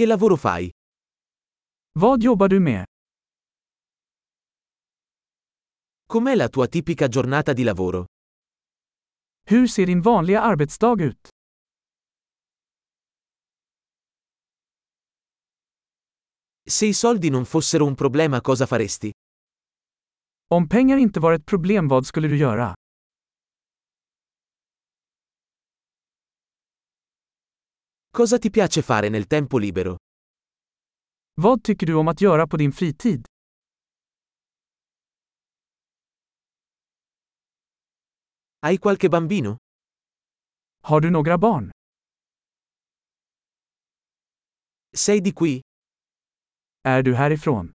Che lavoro fai? Vad jobbar du med? Com'è la tua tipica giornata di lavoro? Hur ser din vanliga arbetsdag ut? Se i soldi non fossero un problema, cosa faresti? Om pengar inte var ett problem, vad skulle du göra? Cosa ti piace fare nel tempo libero? Vad tycker du om att göra på din fritid? Hai qualche bambino? Har du några barn? Sei di qui? Är du härifrån?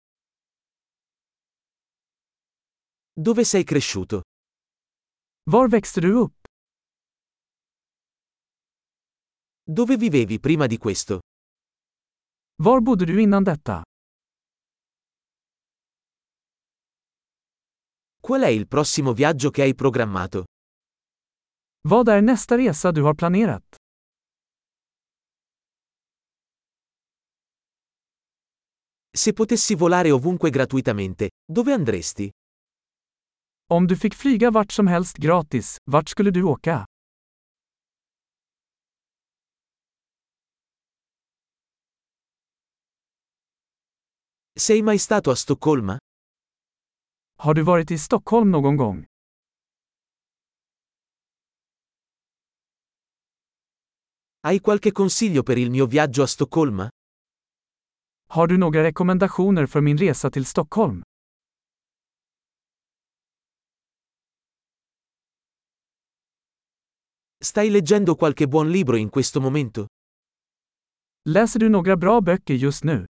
Dove sei cresciuto? Var växte du upp? Dove vivevi prima di questo? Var bodde du innan detta? Qual è il prossimo viaggio che hai programmato? Vad är nästa resa du har planerat? Se potessi volare ovunque gratuitamente, dove andresti? Om du fick flyga vart som helst gratis, vart skulle du åka? Sei mai stato a Stoccolma? Har du varit i Stockholm någon gång? Hai qualche consiglio per il mio viaggio a Stoccolma? Har du några rekommendationer för min resa till Stockholm? Stai leggendo qualche buon libro in questo momento? Läser du några bra böcker just nu?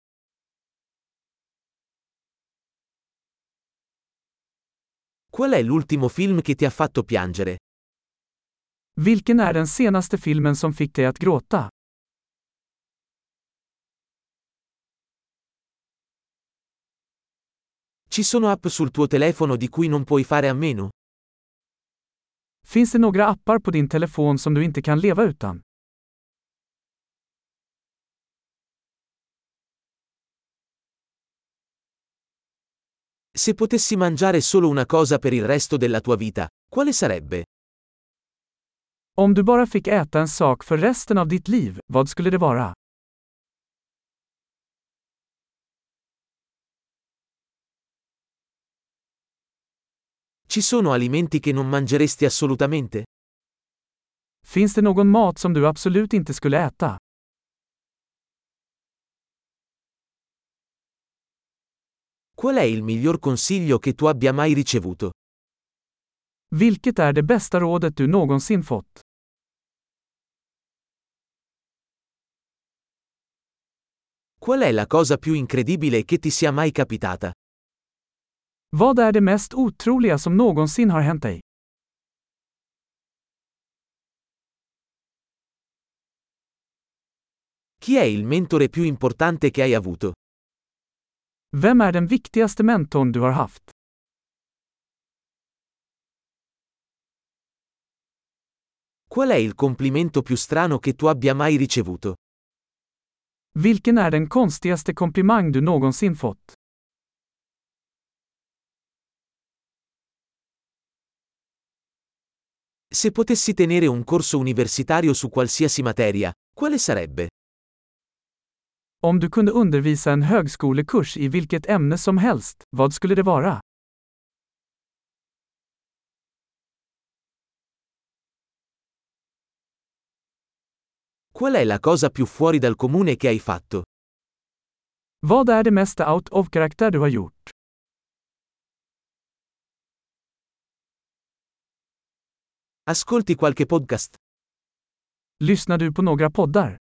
Qual è l'ultimo film che ti ha fatto piangere? Vilken är den senaste filmen som fick dig att gråta? Ci sono app sul tuo telefono di cui non puoi fare a meno? Finns det några appar på din telefon som du inte kan leva utan? Se potessi mangiare solo una cosa per il resto della tua vita, quale sarebbe? Om du bara fick äta en sak för resten av ditt liv, vad skulle det vara? Ci sono alimenti che non mangeresti assolutamente? Finns det någon mat som du absolut inte skulle äta? Qual è il miglior consiglio che tu abbia mai ricevuto? Vilket är det bästa rådet du någonsin fått? Qual è la cosa più incredibile che ti sia mai capitata? Vad är det mest otroliga som någonsin har hänt dig? Chi è il mentore più importante che hai avuto? Vem är den viktigaste mentorn du har haft? Qual è il complimento più strano che tu abbia mai ricevuto? Vilken är den konstigaste komplimang du någonsin fått? Se potessi tenere un corso universitario su qualsiasi materia, quale sarebbe? Om du kunde undervisa en högskolekurs i vilket ämne som helst, vad skulle det vara? Qual è la cosa più fuori dal comune che hai fatto? Vad är det mesta out of karaktär du har gjort? Ascolti qualche podcast? Lyssnar du på några poddar?